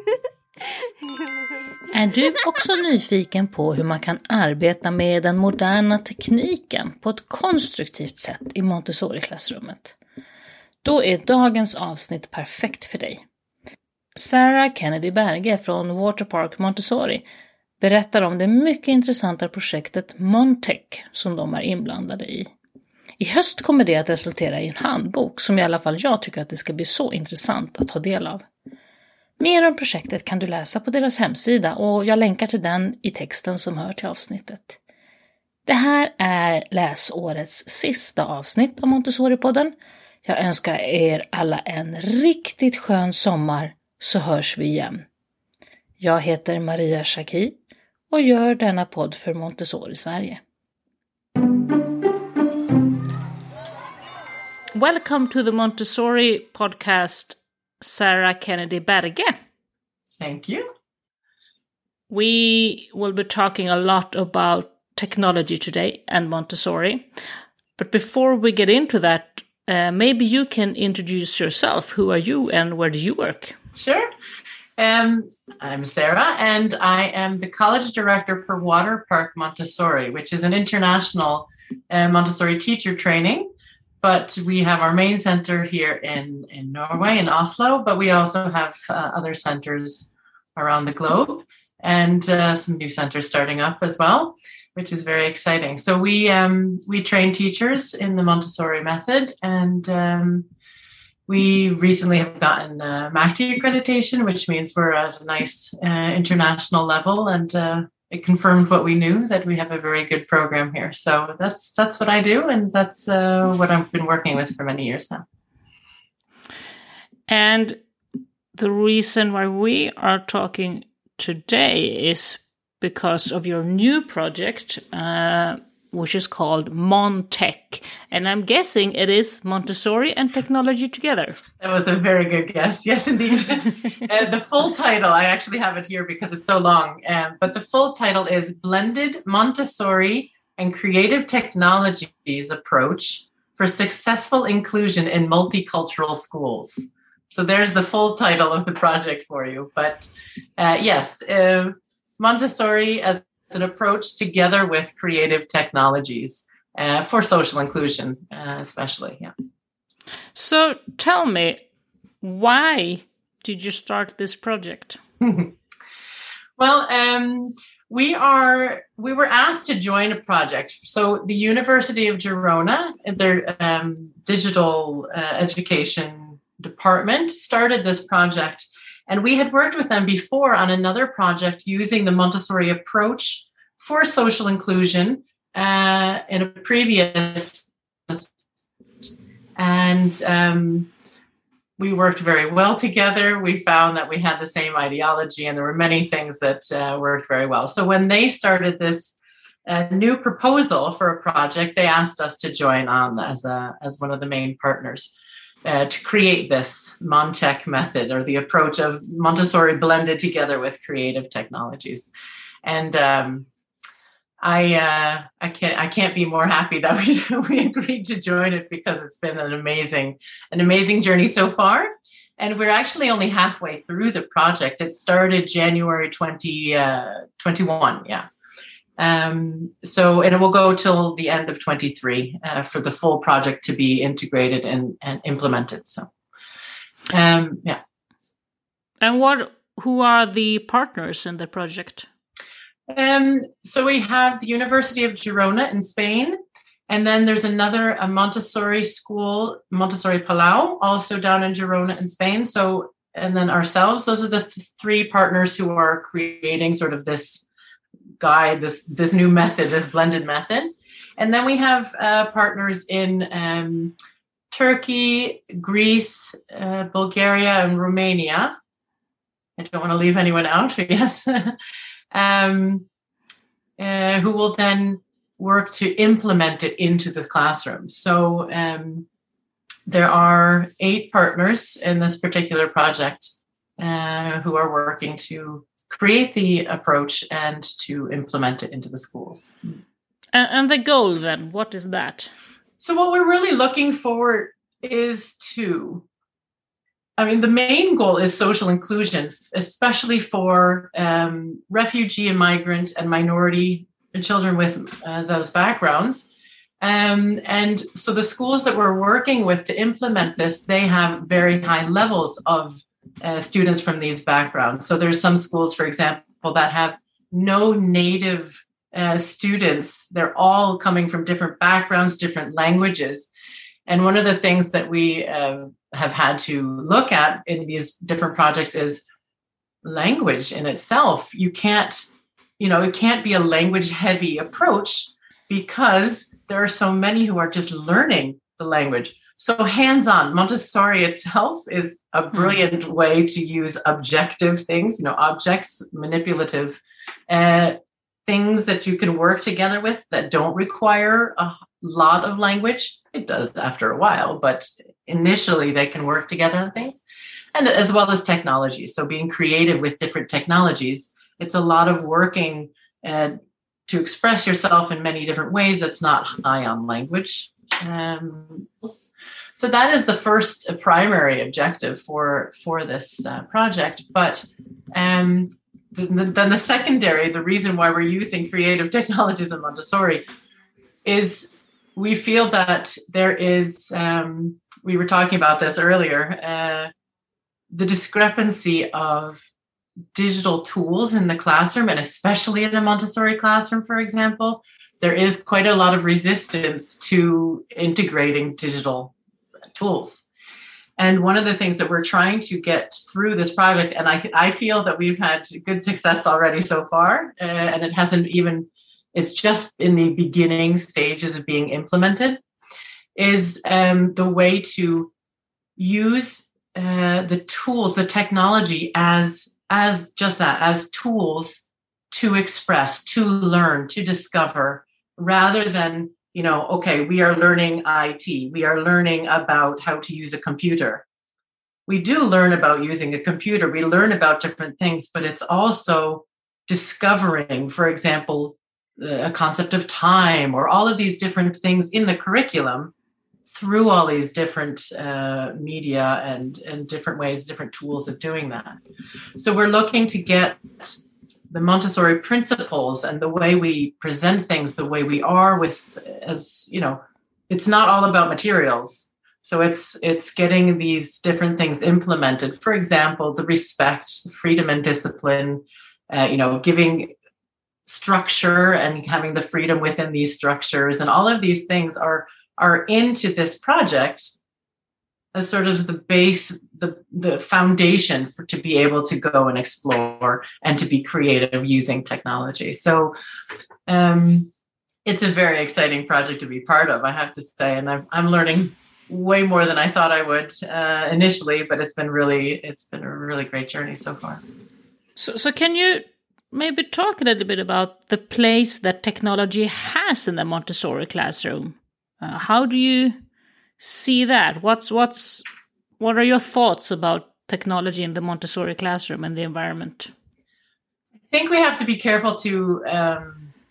Är du också nyfiken på hur man kan arbeta med den moderna tekniken på ett konstruktivt sätt i Montessori-klassrummet? Då är dagens avsnitt perfekt för dig. Sarah Kennedy Berge från Waterpark Montessori berättar om det mycket intressanta projektet Montech som de är inblandade i. I höst kommer det att resultera i en handbok som i alla fall jag tycker att det ska bli så intressant att ta del av. Mer om projektet kan du läsa på deras hemsida och jag länkar till den i texten som hör till avsnittet. Det här är läsårets sista avsnitt av Montessori-podden. Jag önskar er alla en riktigt skön sommar, så hörs vi igen. Jag heter Maria Schacki och gör denna podd för Montessori Sverige. Welcome to the Montessori podcast, Sarah Kennedy Berge. Thank you. We will be talking a lot about technology today and Montessori. But before we get into that, maybe you can introduce yourself. Who are you and where do you work? Sure. I'm Sarah, and I am the college director for Waterpark Montessori, which is an international Montessori teacher training. But we have our main center here in Norway, in Oslo, but we also have other centers around the globe and some new centers starting up as well, which is very exciting. So we train teachers in the Montessori method, and we recently have gotten MACD accreditation, which means we're at a nice international level, and it confirmed what we knew, that we have a very good program here. So that's what I do, and that's what I've been working with for many years now. And the reason why we are talking today is because of your new project, which is called Montech. And I'm guessing it is Montessori and technology together. That was a very good guess. Yes, indeed. The full title, I actually have it here because it's so long, but the full title is Blended Montessori and Creative Technologies Approach for Successful Inclusion in Multicultural Schools. So there's the full title of the project for you. But yes, Montessori as an approach together with creative technologies for social inclusion, especially. Yeah. So tell me, why did you start this project? Well, we were asked to join a project. So the University of Girona, their digital education department, started this project. And we had worked with them before on another project using the Montessori approach for social inclusion in a previous, and we worked very well together. We found that we had the same ideology, and there were many things that worked very well. So when they started this new proposal for a project, they asked us to join on as one of the main partners. To create this Montech method, or the approach of Montessori blended together with creative technologies. And I can't be more happy that we agreed to join it, because it's been an amazing journey so far. And we're actually only halfway through the project. It started January 2021. Yeah. So, and it will go till the end of 23 for the full project to be integrated and implemented. So, yeah. And who are the partners in the project? So we have the University of Girona in Spain, and then there's a Montessori school, Montessori Palau, also down in Girona in Spain. So, and then ourselves, those are the three partners who are creating sort of this guide, this new method, this blended method. And then we have partners in Turkey, Greece, Bulgaria, and Romania. I don't want to leave anyone out, but yes. Who will then work to implement it into the classroom. So there are 8 partners in this particular project who are working to create the approach and to implement it into the schools. And the goal then, what is that? So what we're really looking for is to I mean, the main goal is social inclusion, especially for refugee and migrant and minority children with those backgrounds. And so the schools that we're working with to implement this, they have very high levels of students from these backgrounds. So there's some schools, for example, that have no native students. They're all coming from different backgrounds, different languages. And one of the things that we have had to look at in these different projects is language in itself. It can't be a language heavy approach because there are so many who are just learning the language. So hands-on, Montessori itself is a brilliant way to use objective things, objects, manipulative things that you can work together with that don't require a lot of language. It does after a while, but initially they can work together on things, and as well as technology. So being creative with different technologies, it's a lot of working to express yourself in many different ways that's not high on language. So that is the first primary objective for this project. But then the secondary, the reason why we're using creative technologies in Montessori is we feel that there is, we were talking about this earlier, the discrepancy of digital tools in the classroom, and especially in a Montessori classroom, for example, there is quite a lot of resistance to integrating digital tools. And one of the things that we're trying to get through this project, and I feel that we've had good success already so far, and it's just in the beginning stages of being implemented, is the way to use the tools, the technology as just that, as tools to express, to learn, to discover, rather than, okay, we are learning IT, we are learning about how to use a computer. We do learn about using a computer, we learn about different things, but it's also discovering, for example, a concept of time, or all of these different things in the curriculum through all these different media and different ways, different tools of doing that. So we're looking to get the Montessori principles and the way we present things, the way we are with, as it's not all about materials. So it's getting these different things implemented. For example, the respect, the freedom and discipline, giving structure and having the freedom within these structures, and all of these things are into this project as sort of the base, the foundation to be able to go and explore and to be creative using technology. So it's a very exciting project to be part of, I have to say, and I'm learning way more than I thought I would initially, but it's been a really great journey so far. So can you maybe talk a little bit about the place that technology has in the Montessori classroom? How do you see that? What are your thoughts about technology in the Montessori classroom and the environment? I think we have to be careful to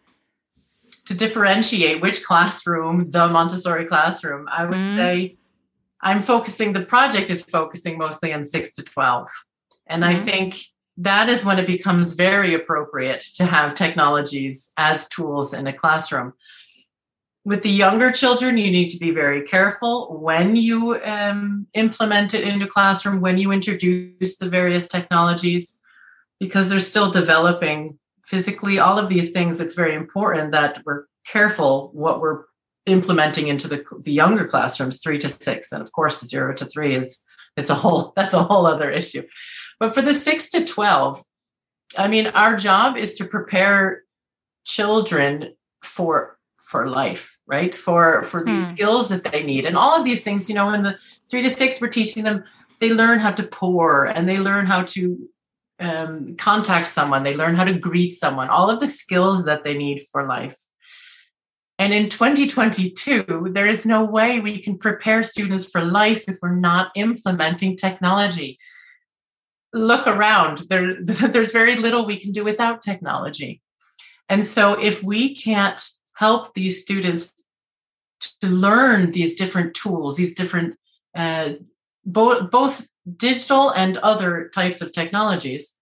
differentiate which classroom, the Montessori classroom. I would say the project is focusing mostly on 6 to 12. And I think that is when it becomes very appropriate to have technologies as tools in a classroom. With the younger children, you need to be very careful when you implement it into classroom, when you introduce the various technologies, because they're still developing physically. All of these things, it's very important that we're careful what we're implementing into the younger classrooms, 3 to 6. And of course, 0 to 3 that's a whole other issue. But for the 6 to 12, I mean, our job is to prepare children for life, right? For these skills that they need. And all of these things, in the 3 to 6, we're teaching them, they learn how to pour, and they learn how to contact someone. They learn how to greet someone, all of the skills that they need for life. And in 2022, there is no way we can prepare students for life if we're not implementing technology. Look around. There's very little we can do without technology. And so if we can't help these students to learn these different tools, these different, both digital and other types of technologies,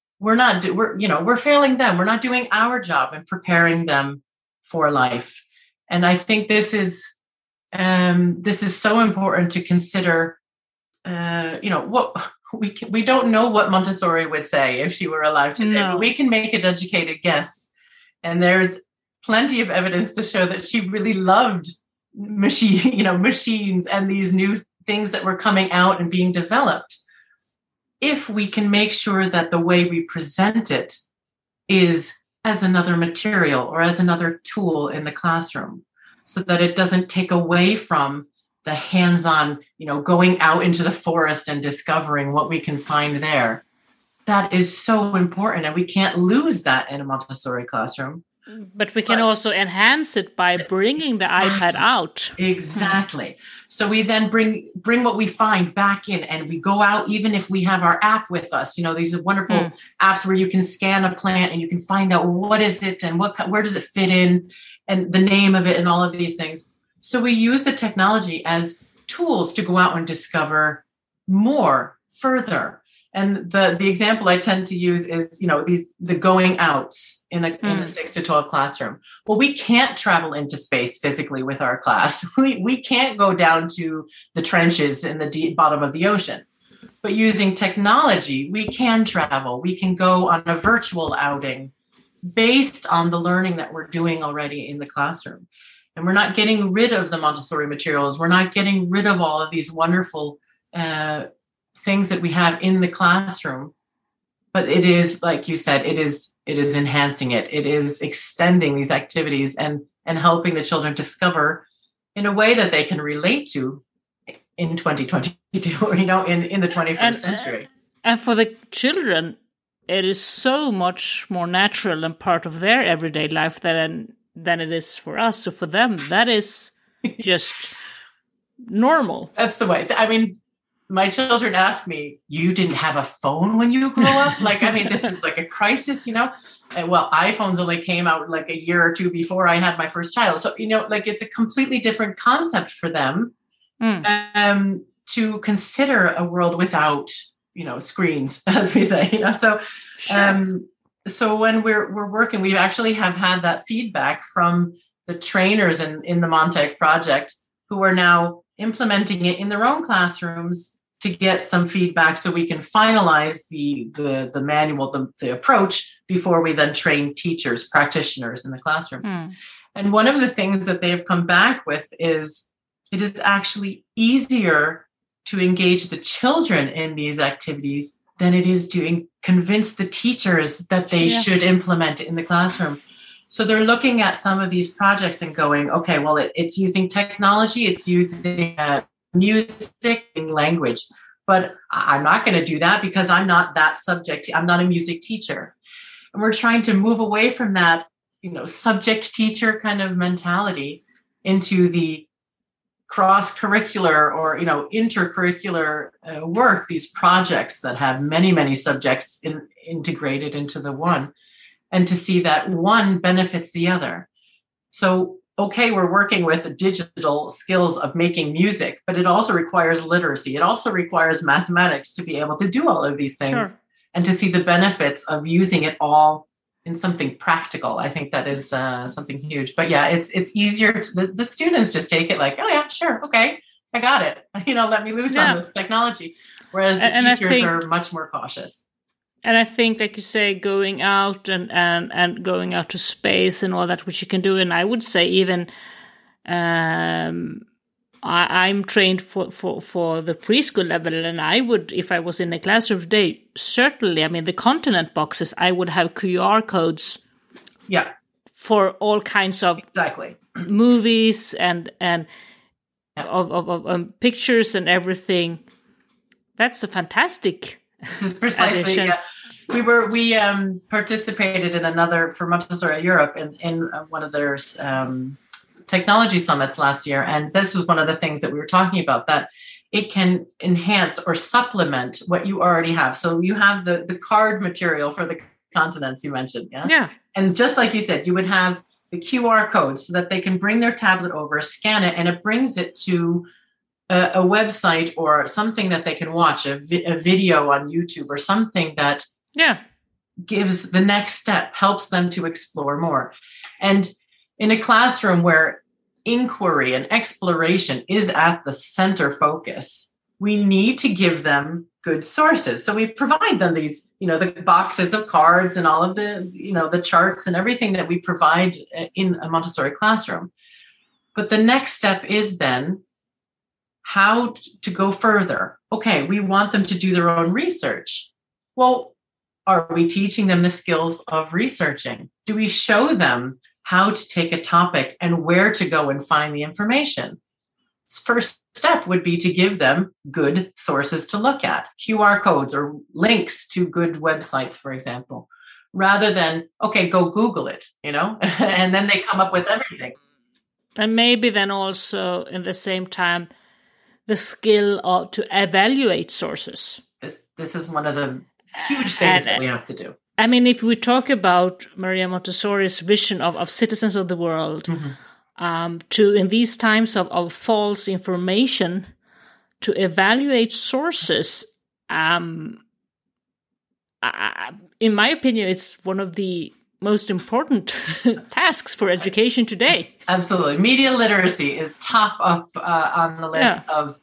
we're failing them. We're not doing our job in preparing them for life. And I think this is so important to consider. What we don't know what Montessori would say if she were alive today, but we can make an educated guess. And there's plenty of evidence to show that she really loved machines and these new things that were coming out and being developed. If we can make sure that the way we present it is as another material or as another tool in the classroom, so that it doesn't take away from the hands-on, going out into the forest and discovering what we can find there. That is so important, and we can't lose that in a Montessori classroom. But we can also enhance it by bringing the iPad out. Exactly. So we then bring what we find back in, and we go out, even if we have our app with us. These are wonderful apps where you can scan a plant and you can find out what is it and where does it fit in and the name of it and all of these things. So we use the technology as tools to go out and discover more, further. And the example I tend to use is, the going outs in a 6 to 12 classroom. Well, we can't travel into space physically with our class. We can't go down to the trenches in the bottom of the ocean. But using technology, we can travel. We can go on a virtual outing based on the learning that we're doing already in the classroom. And we're not getting rid of the Montessori materials. We're not getting rid of all of these wonderful things that we have in the classroom, but it is, like you said, it is enhancing it. It is extending these activities and helping the children discover in a way that they can relate to in 2022, in the 21st century. And for the children, it is so much more natural and part of their everyday life than it is for us. So for them, that is just normal. That's the way. I mean, my children ask me, you didn't have a phone when you grew up? This is like a crisis, And well, iPhones only came out like a year or two before I had my first child. So, it's a completely different concept for them to consider a world without, screens, as we say, So, sure. So when we're working, we actually have had that feedback from the trainers in the Montech project who are now implementing it in their own classrooms to get some feedback so we can finalize the manual, the approach before we then train teachers, practitioners in the classroom. And one of the things that they have come back with is it is actually easier to engage the children in these activities than it is to convince the teachers that they should implement it in the classroom. So they're looking at some of these projects and going, okay, well, it's using technology, it's using music and language, but I'm not going to do that because I'm not that subject. I'm not a music teacher. And we're trying to move away from that, subject teacher kind of mentality into the cross-curricular or, intercurricular work, these projects that have many, many subjects integrated into the one, and to see that one benefits the other. So, okay, we're working with the digital skills of making music, but it also requires literacy. It also requires mathematics to be able to do all of these things and to see the benefits of using it all in something practical. I think that is something huge. But yeah, it's easier. The students just take it like, oh yeah, sure, okay, I got it. Let me loose on this technology. Whereas the teachers are much more cautious. And I think, like you say, going out and going out to space and all that, which you can do. And I would say even I'm trained for the preschool level. And I would, if I was in a classroom today, certainly, the continent boxes, I would have QR codes for all kinds of movies and of pictures and everything. That's a fantastic. This is precisely. We participated in another for Montessori Europe in one of their technology summits last year, and this was one of the things that we were talking about, that it can enhance or supplement what you already have. So you have the card material for the continents you mentioned, and just like you said, you would have the QR code so that they can bring their tablet over, scan it, and it brings it to a website or something that they can watch, a video on YouTube or something that gives the next step, helps them to explore more. And in a classroom where inquiry and exploration is at the center focus, we need to give them good sources. So we provide them these, the boxes of cards and all of the, the charts and everything that we provide in a Montessori classroom. But the next step is then how to go further. Okay, we want them to do their own research. Well, are we teaching them the skills of researching? Do we show them how to take a topic and where to go and find the information? First step would be to give them good sources to look at, QR codes or links to good websites, for example, rather than, okay, go Google it, and then they come up with everything. And maybe then also in the same time, the skill to evaluate sources. This is one of the huge things that we have to do. I mean, if we talk about Maria Montessori's vision of citizens of the world, to in these times of false information, to evaluate sources, in my opinion, it's one of the most important tasks for education today. Absolutely. Media literacy is top up on the list of,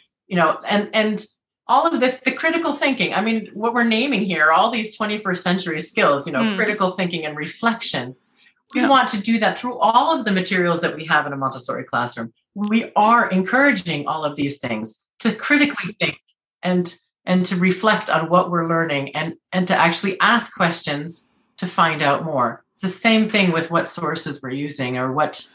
and all of this, the critical thinking. I mean, what we're naming here, all these 21st century skills, critical thinking and reflection. We want to do that through all of the materials that we have in a Montessori classroom. We are encouraging all of these things to critically think and to reflect on what we're learning and to actually ask questions to find out more. It's the same thing with what sources we're using or what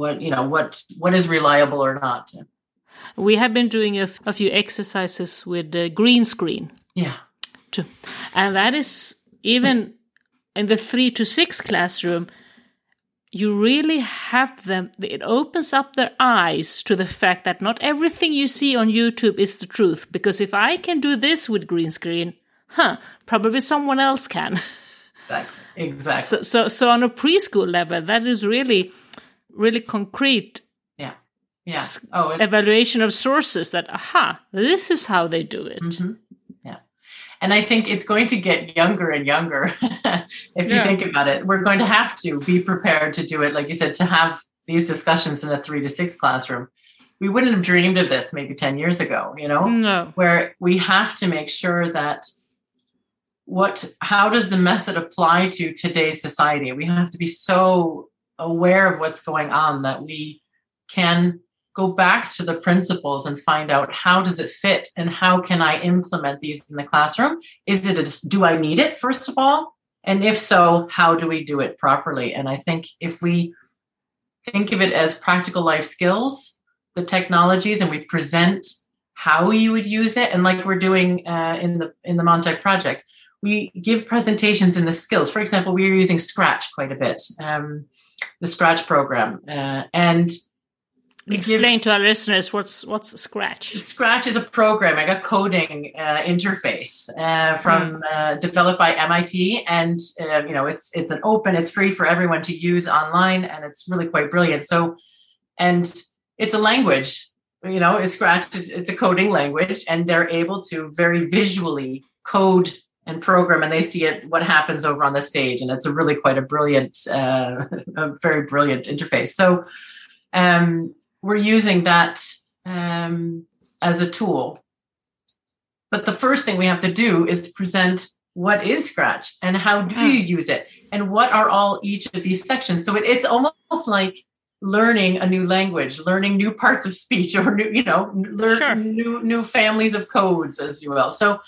is reliable or not. We have been doing a few exercises with the green screen. Yeah. Too. And that is even in the 3 to 6 classroom, you really have them, it opens up their eyes to the fact that not everything you see on YouTube is the truth. Because if I can do this with green screen, probably someone else can. Exactly. So on a preschool level, that is really, really concrete. Yeah. Evaluation of sources that, this is how they do it. Mm-hmm. Yeah. And I think it's going to get younger and younger. If you think about it, we're going to have to be prepared to do it. Like you said, to have these discussions in a 3 to 6 classroom. We wouldn't have dreamed of this maybe 10 years ago, No. Where we have to make sure that how does the method apply to today's society? We have to be so aware of what's going on that we can go back to the principles and find out how does it fit and how can I implement these in the classroom? Do I need it, first of all? And if so, how do we do it properly? And I think if we think of it as practical life skills, the technologies, and we present how you would use it, and like we're doing in the Montech project, we give presentations in the skills. For example, we are using Scratch quite a bit, the Scratch program, and explain to our listeners what's Scratch. Scratch is a programming, a coding interface developed by MIT, and it's it's free for everyone to use online, and it's really quite brilliant. So, and it's a language. Scratch it's a coding language, and they're able to very visually code and program, and they see what happens over on the stage, and it's a really quite a brilliant, a very brilliant interface. So. We're using that as a tool. But the first thing we have to do is present what is Scratch and how do you use it and what are each of these sections. So it's almost like learning a new language, learning new parts of speech, or new families of codes, as you will. So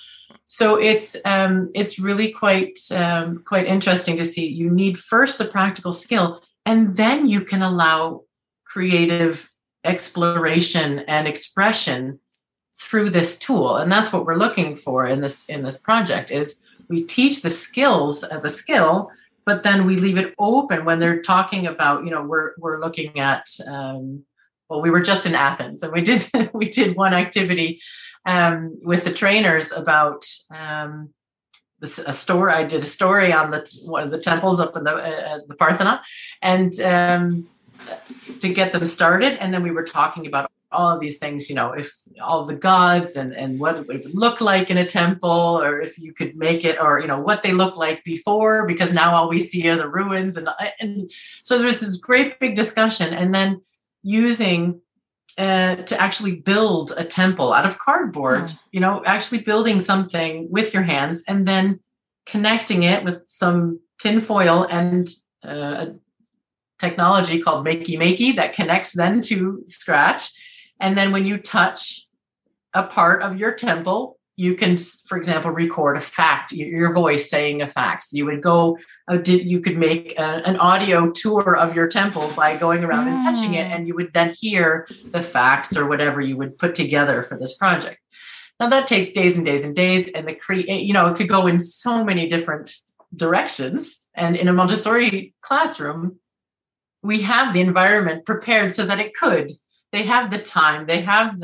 it's really quite interesting to see. You need first the practical skill, and then you can allow creative exploration and expression through this tool. And that's what we're looking for in this project is we teach the skills as a skill, but then we leave it open when they're talking about, we're looking at, we were just in Athens, and we did one activity with the trainers about a story. I did a story on one of the temples up in the Parthenon, and to get them started. And then we were talking about all of these things, if all the gods and what it would look like in a temple, or if you could make it, or, what they looked like before, because now all we see are the ruins. And so there was this great big discussion, and then using to actually build a temple out of cardboard, actually building something with your hands and then connecting it with some tin foil and a technology called Makey Makey that connects then to Scratch. And then when you touch a part of your temple, you can, for example, record a fact, your voice saying a fact. So you would go, you could make an audio tour of your temple by going around and touching it, and you would then hear the facts or whatever you would put together for this project. Now that takes days and days and days, and it could go in so many different directions. And in a Montessori classroom, we have the environment prepared so that it could. They have the time, they have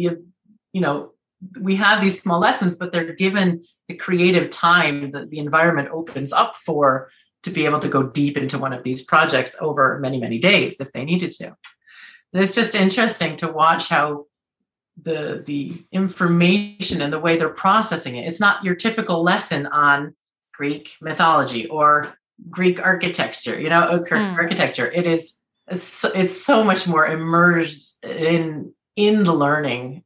we have these small lessons, but they're given the creative time that the environment opens up for, to be able to go deep into one of these projects over many, many days if they needed to. It's just interesting to watch how the information and the way they're processing it. It's not your typical lesson on Greek mythology or Greek architecture, architecture. It's so much more immersed in the learning,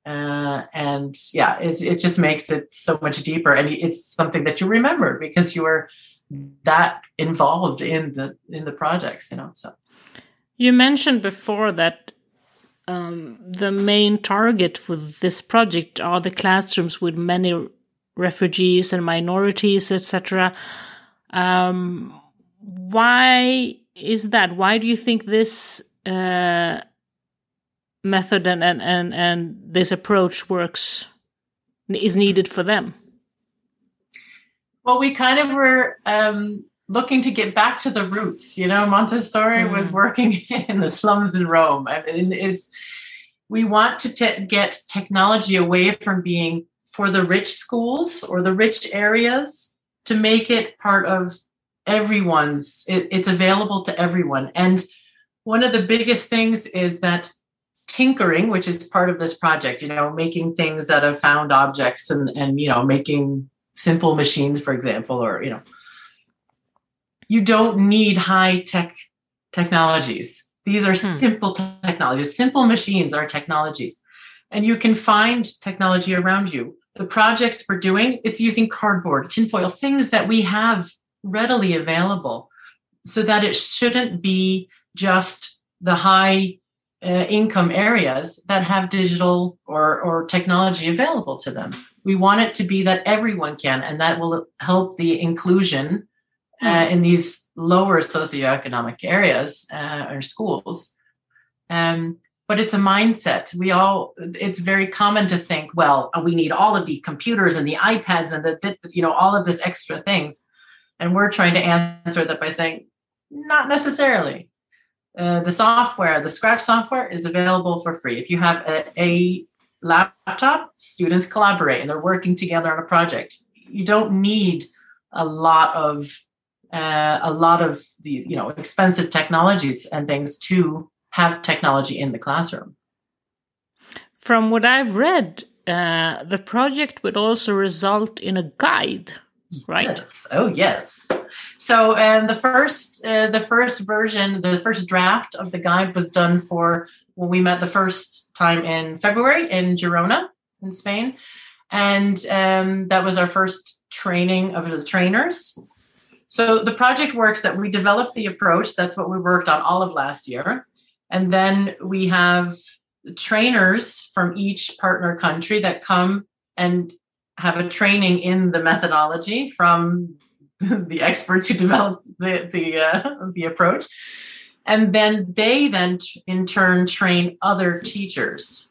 it just makes it so much deeper, and it's something that you remember because you were that involved in the projects. So you mentioned before that the main target for this project are the classrooms with many refugees and minorities, etc. Why is that? Why do you think this method and this approach is needed for them? Well, we kind of were looking to get back to the roots. Montessori was working in the slums in Rome. We want to get technology away from being for the rich schools or the rich areas to make it part of everyone's. It's available to everyone. And one of the biggest things is that tinkering, which is part of this project, making things out of found objects and making simple machines, for example, or, you don't need high tech technologies. These are simple technologies. Simple machines are technologies, and you can find technology around you. The projects we're doing, it's using cardboard, tinfoil, things that we have readily available, so that it shouldn't be just the high income areas that have digital or technology available to them. We want it to be that everyone can, and that will help the inclusion in these lower socioeconomic areas or schools. But it's a mindset. It's very common to think, well, we need all of the computers and the iPads and all of this extra things. And we're trying to answer that by saying, not necessarily. The software, the Scratch software, is available for free. If you have a laptop, students collaborate and they're working together on a project. You don't need a lot of these, expensive technologies and things to have technology in the classroom. From what I've read, the project would also result in a guide, right? Yes. Oh, yes. So the first version, the first draft of the guide was done for when we met the first time in February in Girona in Spain. And that was our first training of the trainers. So the project works that we developed the approach. That's what we worked on all of last year. And then we have trainers from each partner country that come and have a training in the methodology from the experts who developed the approach. And then they in turn train other teachers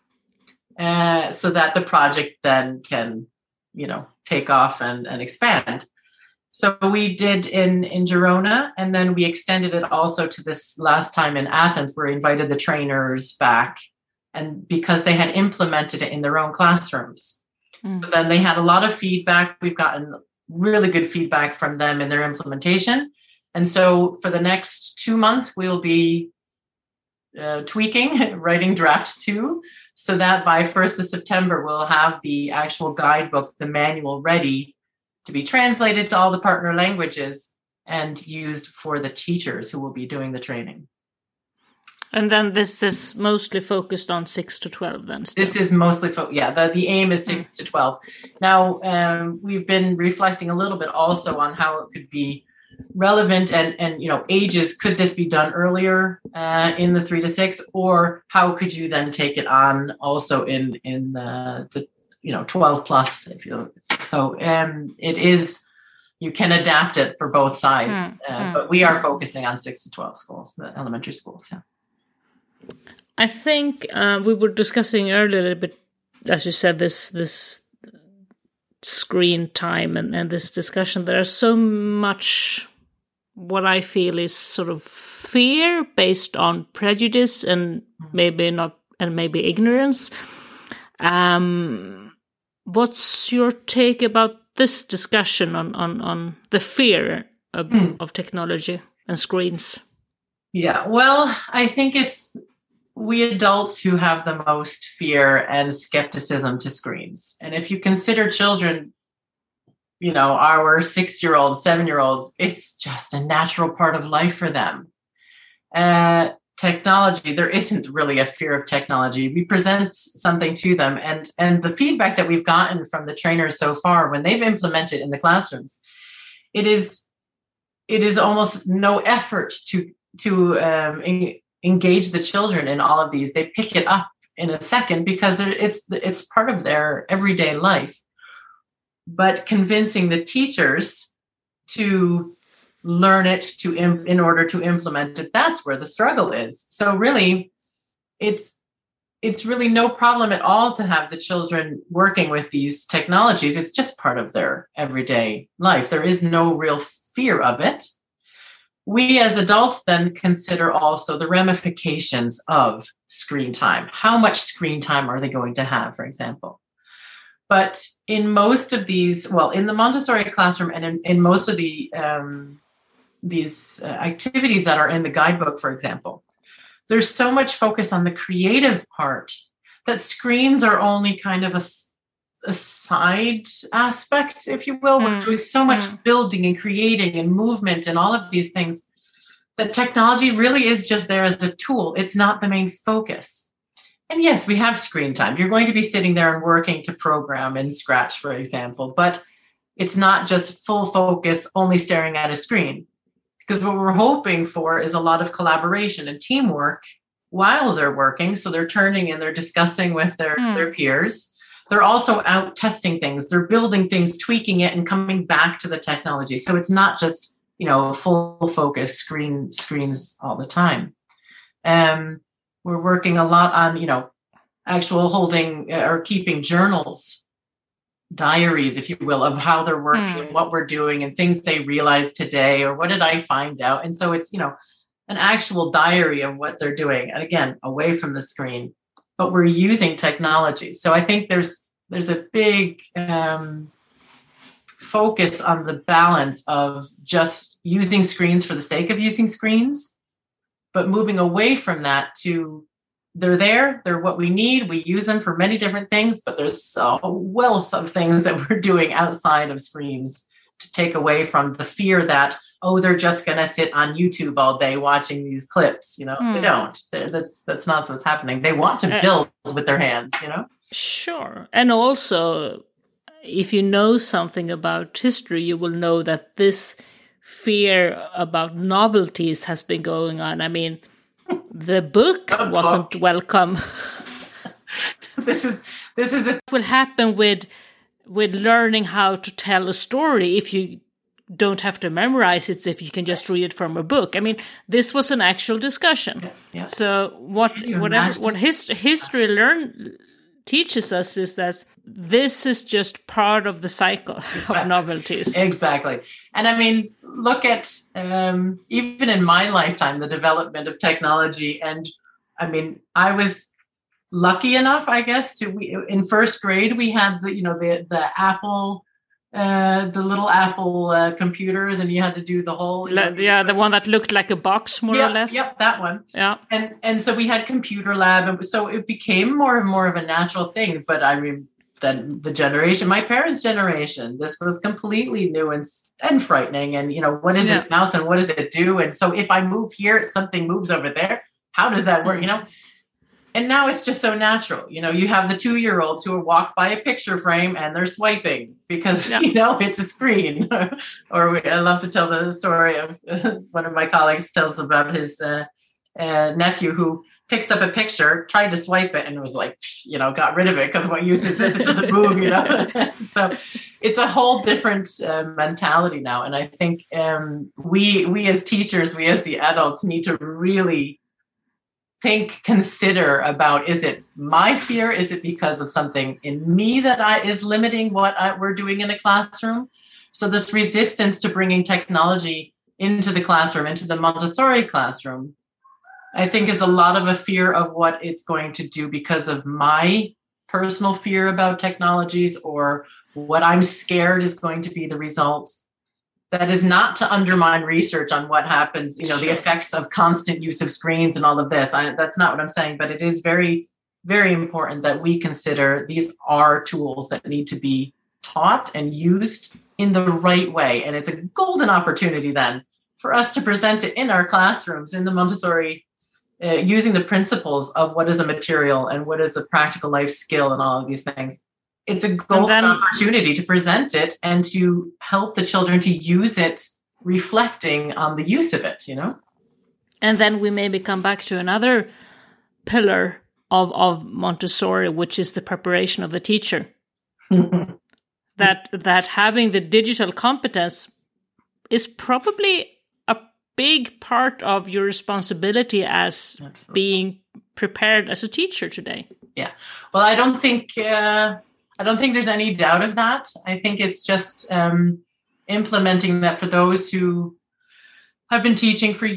so that the project then can, take off and expand. So we did in Girona, and then we extended it also to this last time in Athens, where we invited the trainers back, and because they had implemented it in their own classrooms. But then they had a lot of feedback. We've gotten really good feedback from them in their implementation. And so for the next 2 months, we'll be tweaking, writing draft 2, so that by 1st of September, we'll have the actual guidebook, the manual, ready to be translated to all the partner languages and used for the teachers who will be doing the training. And then this is mostly focused on 6 to 12 then still. This is mostly, the aim is 6 to 12. Now, we've been reflecting a little bit also on how it could be relevant and ages. Could this be done earlier in the 3 to 6, or how could you then take it on also in the 12 plus? It is, you can adapt it for both sides, but we are focusing on 6 to 12 schools, the elementary schools. Yeah. I think we were discussing earlier a little bit, as you said, this screen time and this discussion. There is so much what I feel is sort of fear based on prejudice and maybe ignorance. What's your take about this discussion on the fear of technology and screens? Yeah, well, I think it's we adults who have the most fear and skepticism to screens. And if you consider children, our 6-year-olds, 7-year-olds, it's just a natural part of life for them. Technology, there isn't really a fear of technology. We present something to them, and the feedback that we've gotten from the trainers so far when they've implemented in the classrooms, it is almost no effort to engage the children in all of these. They pick it up in a second because it's part of their everyday life. But convincing the teachers to learn it in order to implement it, that's where the struggle is. So really, it's really no problem at all to have the children working with these technologies. It's just part of their everyday life. There is no real fear of it. We as adults then consider also the ramifications of screen time. How much screen time are they going to have, for example? But in most of these, in the Montessori classroom and in most of the these activities that are in the guidebook, for example, there's so much focus on the creative part that screens are only kind of a side aspect, if you will. We're doing so much building and creating and movement and all of these things that technology really is just there as a tool. It's not the main focus. And yes, we have screen time. You're going to be sitting there and working to program in Scratch, for example, but it's not just full focus, only staring at a screen. Because what we're hoping for is a lot of collaboration and teamwork while they're working. So they're turning and they're discussing with their peers. They're also out testing things. They're building things, tweaking it, and coming back to the technology. So it's not just, full focus screens all the time. We're working a lot on, actual holding or keeping journals, diaries, if you will, of how they're working and what we're doing and things they realized today or what did I find out. And so it's, an actual diary of what they're doing. And again, away from the screen, but we're using technology. So I think there's a big focus on the balance of just using screens for the sake of using screens, but moving away from that to they're what we need. We use them for many different things, but there's a wealth of things that we're doing outside of screens to take away from the fear that, they're just going to sit on YouTube all day watching these clips. They don't. That's not what's happening. They want to build with their hands, Sure. And also, if you know something about history, you will know that this fear about novelties has been going on. I mean, the book wasn't welcome. This is what will happen with learning how to tell a story if you don't have to memorize it, if you can just read it from a book. I mean, this was an actual discussion. Yeah. So what history teaches us is that this is just part of the cycle of novelties. Exactly. And I mean, look at even in my lifetime, the development of technology. And I mean, I was lucky enough, I guess, in first grade, we had the Apple the little Apple computers, and you had to do the whole. The one that looked like a box, more or less. Yep, that one. Yeah. And so we had computer lab, and so it became more and more of a natural thing. But I mean, then my parents' generation, this was completely new and frightening. And what is this mouse, and what does it do? And so if I move here, something moves over there. How does that work? And now it's just so natural. You have the 2-year-olds who walk by a picture frame and they're swiping because, it's a screen. Or I love to tell the story of one of my colleagues tells about his nephew who picks up a picture, tried to swipe it, and was like, got rid of it because what use is this? It doesn't move, So it's a whole different mentality now. And I think we as teachers, we as the adults need to really consider about, is it my fear? Is it because of something in me that is limiting what we're doing in a classroom? So this resistance to bringing technology into the classroom, into the Montessori classroom, I think is a lot of a fear of what it's going to do because of my personal fear about technologies, or what I'm scared is going to be the result. That is not to undermine research on what happens, the effects of constant use of screens and all of this. That's not what I'm saying, but it is very, very important that we consider these are tools that need to be taught and used in the right way. And it's a golden opportunity then for us to present it in our classrooms in the Montessori, using the principles of what is a material and what is a practical life skill and all of these things. It's a golden opportunity to present it and to help the children to use it, reflecting on the use of it, And then we maybe come back to another pillar of Montessori, which is the preparation of the teacher. that having the digital competence is probably a big part of your responsibility as being prepared as a teacher today. Yeah. Well, I don't think there's any doubt of that. I think it's just implementing that for those who have been teaching for,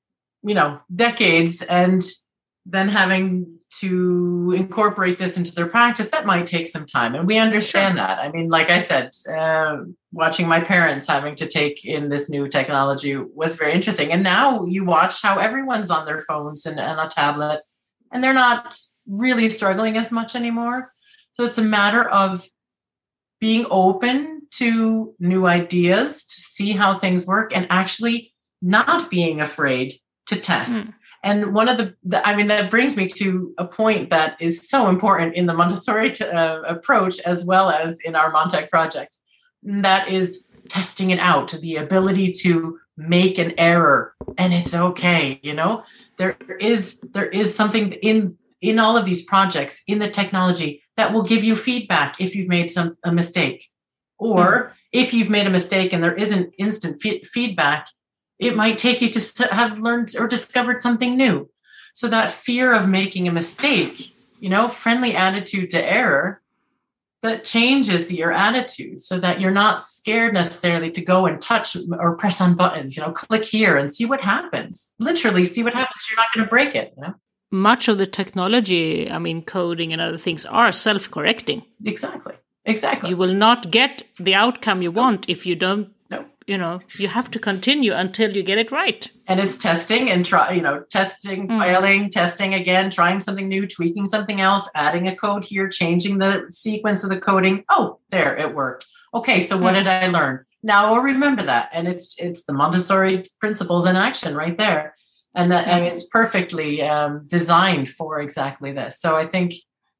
decades, and then having to incorporate this into their practice, that might take some time. And we understand that. I mean, like I said, watching my parents having to take in this new technology was very interesting. And now you watch how everyone's on their phones and a tablet, and they're not really struggling as much anymore. So it's a matter of being open to new ideas, to see how things work, and actually not being afraid to test. And one of that brings me to a point that is so important in the Montessori approach, as well as in our Montech project. That is testing it out, the ability to make an error, and it's okay. There is something in all of these projects, in the technology, that will give you feedback if you've made a mistake. Or if you've made a mistake and there isn't instant feedback, it might take you to have learned or discovered something new. So that fear of making a mistake, friendly attitude to error, that changes your attitude so that you're not scared necessarily to go and touch or press on buttons, click here and see what happens. Literally see what happens. You're not going to break it. Much of the technology, coding and other things are self-correcting. Exactly. You will not get the outcome you want if you don't, you have to continue until you get it right. And it's testing and testing, failing, testing again, trying something new, tweaking something else, adding a code here, changing the sequence of the coding. Oh, there, it worked. Okay, so what did I learn? Now I'll remember that. And it's the Montessori principles in action right there. And it's perfectly designed for exactly this. So I think,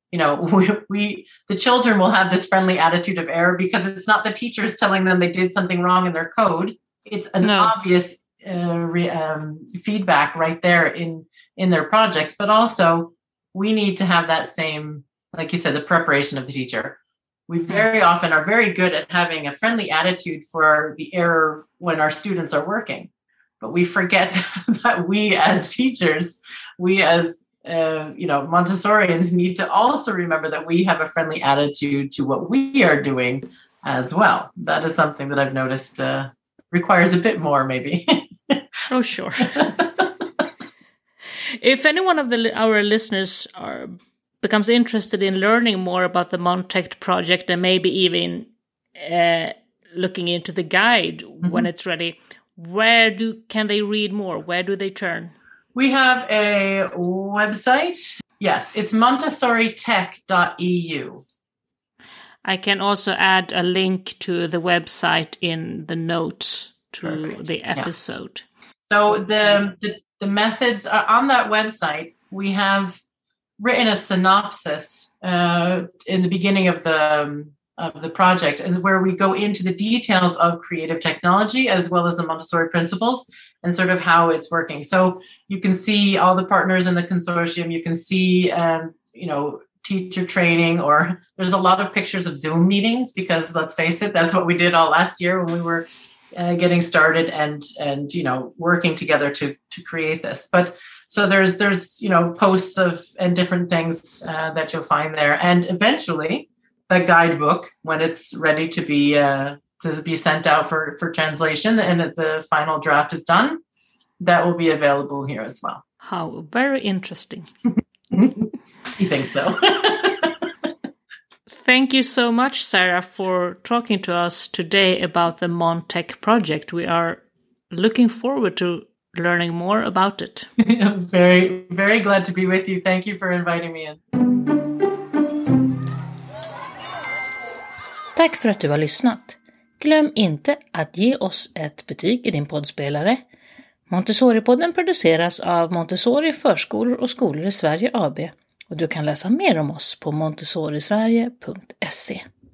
the children will have this friendly attitude of error because it's not the teachers telling them they did something wrong in their code. It's an obvious feedback right there in their projects. But also, we need to have that same, like you said, the preparation of the teacher. We very often are very good at having a friendly attitude for the error when our students are working. But we forget that we as teachers, we as Montessorians need to also remember that we have a friendly attitude to what we are doing as well. That is something that I've noticed requires a bit more, maybe. Oh, sure. If any one of our listeners becomes interested in learning more about the Montech project and maybe even looking into the guide when it's ready, where can they read more? Where do they turn? We have a website. Yes, it's montessoritech.eu. I can also add a link to the website in the notes to the episode. Yeah. So the methods are on that website. We have written a synopsis in the beginning of the project, and where we go into the details of creative technology as well as the Montessori principles and sort of how it's working. So you can see all the partners in the consortium. You can see, teacher training, or there's a lot of pictures of Zoom meetings because, let's face it, that's what we did all last year when we were getting started and working together to create this. But so there's posts and different things that you'll find there, and eventually the guidebook, when it's ready to be sent out for translation and the final draft is done, that will be available here as well. How very interesting. You think so? Thank you so much, Sarah, for talking to us today about the Montech project. We are looking forward to learning more about it. I'm very, very glad to be with you. Thank you for inviting me in. Tack för att du har lyssnat. Glöm inte att ge oss ett betyg i din poddspelare. Montessori-podden produceras av Montessori förskolor och skolor i Sverige AB. Och du kan läsa mer om oss på montessorisverige.se.